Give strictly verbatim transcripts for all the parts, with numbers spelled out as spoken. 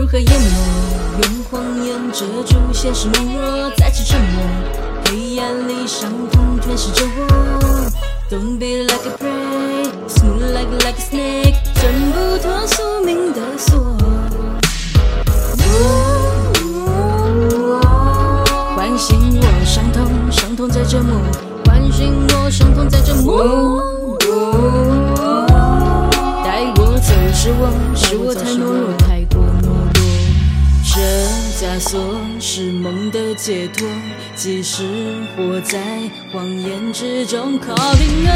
如何淹没？用谎言遮住现实懦弱，再次沉默。黑暗里伤痛吞噬着我。Don't be like a prey, smooth like like a snake， 挣不脱宿命的锁。唤醒我伤痛，伤痛在折磨。唤醒我伤痛在折磨。带我走是我，是我太懦弱，太过懦弱。这枷锁是梦的解脱，即使活在谎言之中 ，Calling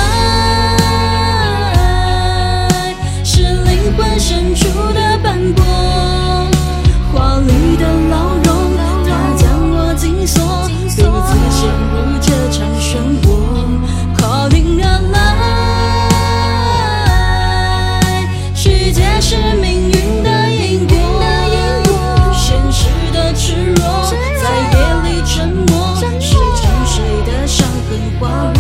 alive， 是灵魂深处的斑驳，华丽的牢笼，它将我紧锁，独自陷入这场漩涡 ，Calling alive， 世界是命运的因果。赤裸在夜里沉默，是沉睡的伤痕滑落。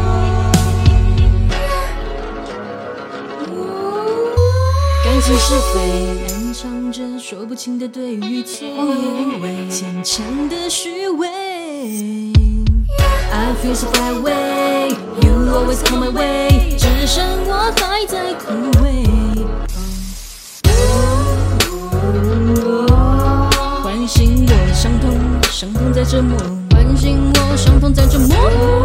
感情是非，暗藏着说不清的对与错，谎言牵强的虚伪。I feel so far away, you always come my way， 只剩我还在枯萎。唤醒我伤痛，伤痛在折磨。唤醒我伤痛在折磨。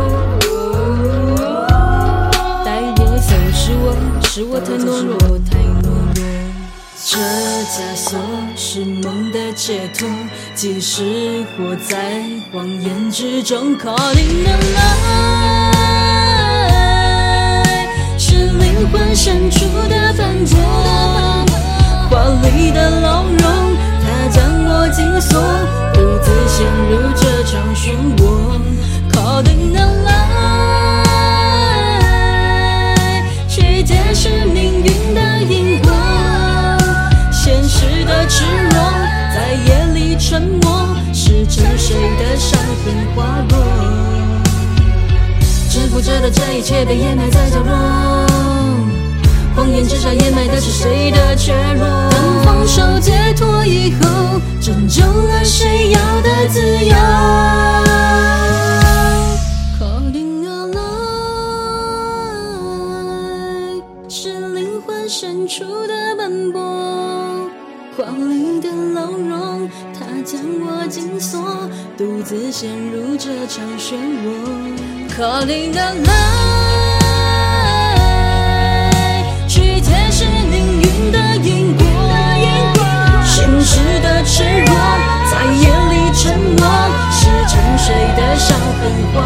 带我走是我，是我太懦弱，太懦弱。这枷锁是梦的解脱，即使活在谎言之中 ，Calling alive， 是灵魂深处的斑驳，华丽的牢笼。它将我紧锁，独自陷入这场漩涡 ，Calling alive， 世界是命运的因果，现实的赤裸在夜里沉默，是沉睡的伤痕滑落，制服着的这一切被掩埋在角落。谎言之下掩埋的是谁的脆弱？当放手解脱以后，拯救了谁要的自由 ？Calling alive， 是灵魂深处的斑驳，华丽的牢笼，它将我紧锁，独自陷入这场漩涡。Calling alive。是命运的因果，现实的赤裸在夜里沉默，是沉睡的伤痕。